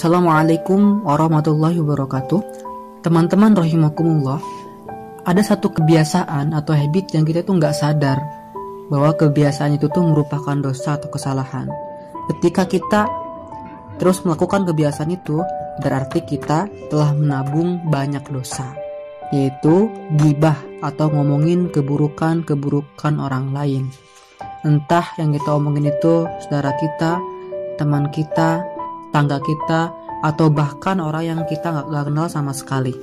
Assalamualaikum warahmatullahi wabarakatuh. Teman-teman rahimakumullah, ada satu kebiasaan atau habit yang kita tuh nggak sadar bahwa kebiasaan itu tuh merupakan dosa atau kesalahan. Ketika kita terus melakukan kebiasaan itu, berarti kita telah menabung banyak dosa, yaitu ghibah atau ngomongin keburukan orang lain. Entah yang kita omongin itu saudara kita, teman kita, tangga kita, atau bahkan orang yang kita gak kenal sama sekali.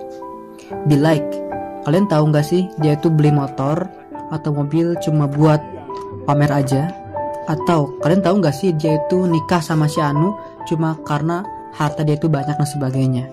Be like, kalian tahu gak sih dia itu beli motor atau mobil cuma buat pamer aja? Atau kalian tahu gak sih dia itu nikah sama si Anu cuma karena harta dia itu banyak dan sebagainya?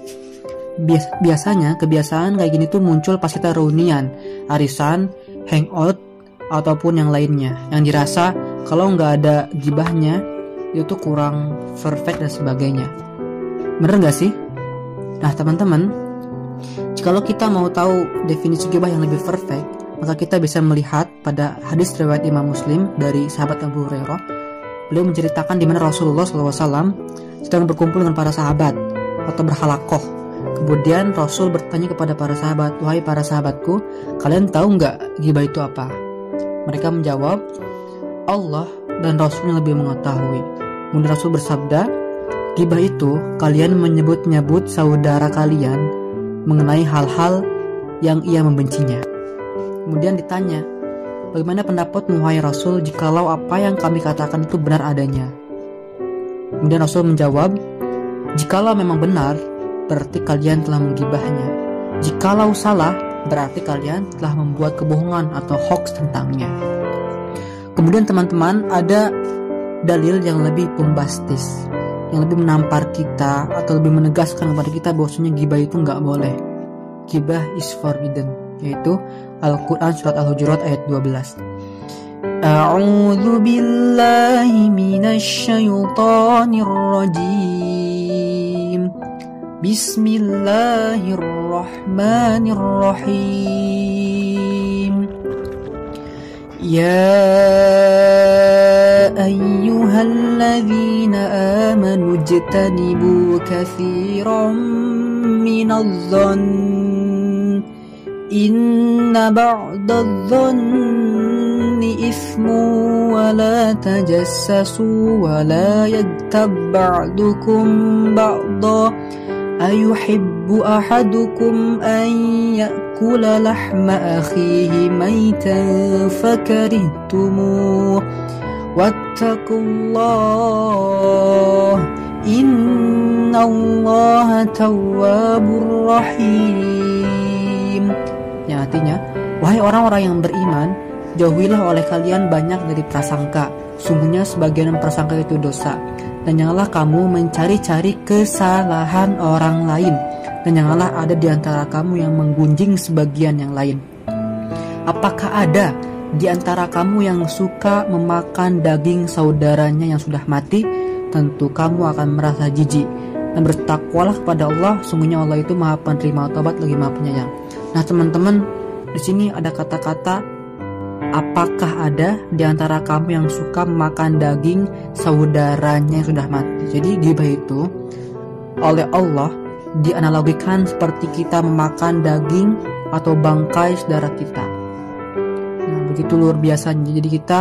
Biasanya kebiasaan kayak gini tuh muncul pas kita reunian, arisan, hangout, ataupun yang lainnya, yang dirasa kalau gak ada gibahnya itu tuh kurang perfect dan sebagainya. Bener gak sih? Nah teman-teman, kalau kita mau tahu definisi gibah yang lebih perfect, maka kita bisa melihat pada hadis riwayat Imam Muslim dari sahabat Abu Hurairah. Beliau menceritakan di mana Rasulullah SAW sedang berkumpul dengan para sahabat atau berhalakoh. Kemudian Rasul bertanya kepada para sahabat, "Wahai para sahabatku, kalian tahu nggak gibah itu apa?" Mereka menjawab, "Allah dan Rasulnya lebih mengetahui." Kemudian Rasul bersabda, "Gibah itu kalian menyebut-nyebut saudara kalian mengenai hal-hal yang ia membencinya." Kemudian ditanya, "Bagaimana pendapatmu wahai Rasul jikalau apa yang kami katakan itu benar adanya?" Kemudian Rasul menjawab, "Jikalau memang benar, berarti kalian telah menggibahnya. Jikalau salah, berarti kalian telah membuat kebohongan atau hoax tentangnya." Kemudian teman-teman, ada dalil yang lebih bombastis, yang lebih menampar kita atau lebih menegaskan kepada kita bahwasanya gibah itu nggak boleh. Gibah is forbidden, yaitu Al-Quran surat Al-Hujurat ayat 12. A'udzu billahi minasy syaithanir rajim. Bismillahirrahmanirrahim. Ya ayyuhalladzina amanu ijtanibu katsiran minadh-dhanni inna ba'dadh-dhanni ithmun wa la tajassasu wa la yaghtab ba'dukum ba'dha ayuhibbu ahadukum an ya'kula lahma akhihi maytan fakarihtumuh wattaqullah innallaha tawwabur rahim. Yang artinya, wahai orang-orang yang beriman, jauhilah oleh kalian banyak dari prasangka. Sungguhnya sebagian prasangka itu dosa. Dan janganlah kamu mencari-cari kesalahan orang lain, dan janganlah ada di antara kamu yang menggunjing sebagian yang lain. Apakah ada di antara kamu yang suka memakan daging saudaranya yang sudah mati? Tentu kamu akan merasa jijik. Dan bertakwalah kepada Allah, sungguhnya Allah itu Maha Penerima Taubat lagi Maha Penyayang. Nah teman-teman, di sini ada kata-kata, apakah ada di antara kamu yang suka makan daging saudaranya yang sudah mati? Jadi gibah itu oleh Allah dianalogikan seperti kita memakan daging atau bangkai saudara kita. Nah, begitu luar biasanya. Jadi kita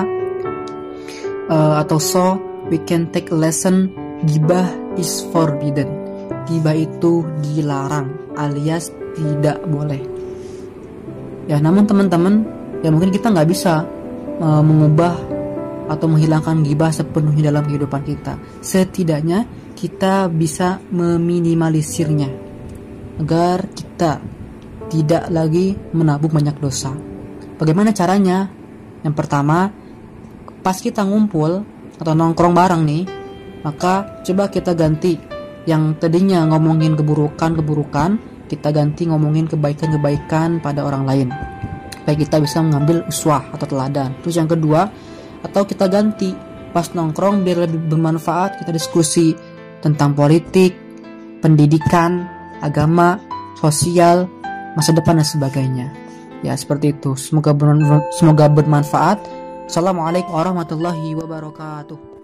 we can take a lesson, gibah is forbidden. Gibah itu dilarang alias tidak boleh. Ya, namun teman-teman, ya mungkin kita nggak bisa mengubah atau menghilangkan gibah sepenuhnya dalam kehidupan kita. Setidaknya kita bisa meminimalisirnya agar kita tidak lagi menabung banyak dosa. Bagaimana caranya? Yang pertama, pas kita ngumpul atau nongkrong bareng nih, maka coba kita ganti yang tadinya ngomongin keburukan, kita ganti ngomongin kebaikan-kebaikan pada orang lain, supaya kita bisa mengambil uswah atau teladan. Terus yang kedua, atau kita ganti pas nongkrong biar lebih bermanfaat, kita diskusi tentang politik, pendidikan, agama, sosial, masa depan dan sebagainya. Ya seperti itu. Semoga bermanfaat. Assalamualaikum warahmatullahi wabarakatuh.